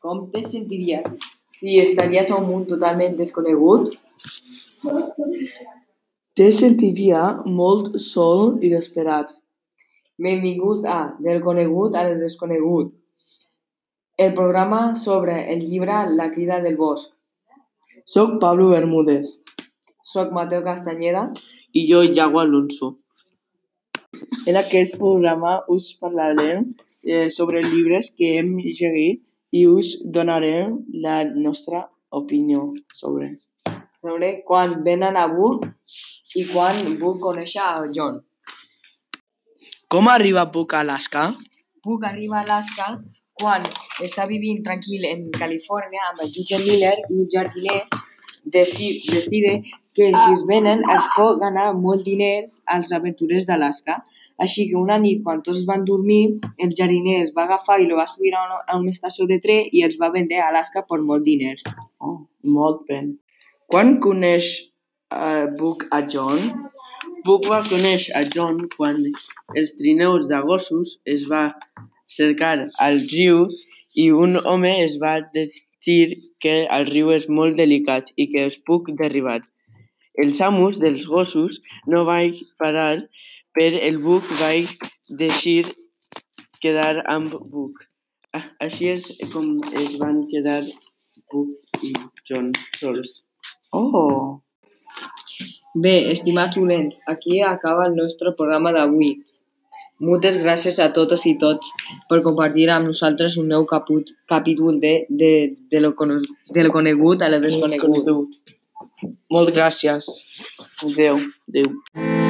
Com te sentiries si estaries a un món totalment desconegut? Te sentiria molt sol i desesperat. Benvinguts a Del conegut al desconegut, el programa sobre el llibre La crida del bosc. Soc Pablo Bermúdez. Soc Mateo Castañeda. I jo, Iago Alonso. En aquest programa us parlarem sobre llibres que hem llegit i us donarem la nostra opinió sobre Quan venen a Book i quan Book conèixer a John. Com arriba Book a Alaska? Book arriba a Alaska quan està vivint tranquil en Califòrnia amb el jutge Miller i un jardiner decide que si es venen es pot ganar molt diners als aventurers d'Alaska. Així que una nit, quan tots van dormir, el jardiner es va agafar i el va subir a una estació de tren i els va vendre a Alaska per molts diners. Oh, molt bé. Quan coneix Book a John? Book va conèixer a John quan els trineus de gossos es va cercar al riu i un home es va dir que el riu és molt delicat i que es puc derribar. Els amos dels gossos no van parar, però el Book va decidir quedar amb Book. Així és com es van quedar Book i John sols. Oh! Bé, estimats oients, aquí acaba el nostre programa d'avui. Moltes gràcies a totes i tots per compartir amb nosaltres un nou capítol de lo conegut a lo desconegut. Molt gràcies. Adéu.